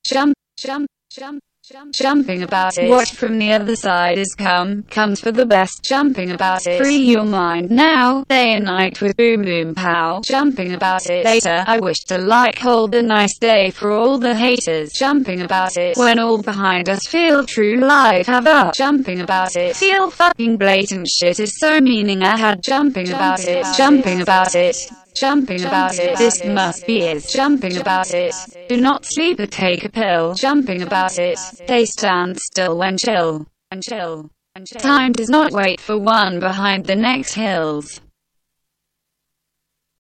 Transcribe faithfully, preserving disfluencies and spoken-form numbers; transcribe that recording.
jump, jump, jump, jump, jumping about it. What from the other side is come, comes for the best, jumping about it. Free your mind now, day and night with boom boom pow, jumping about it. Later, I wish to like hold a nice day for all the haters, jumping about it. When all behind us feel true life have up, jumping about it. Feel fucking blatant shit is so meaning I had, jumping about it, jumping about it. Jumping about it, this must be is jumping about it. Do not sleep or take a pill, jumping about it. They stand still when chill, and chill, and chill. Time does not wait for one behind the next hills.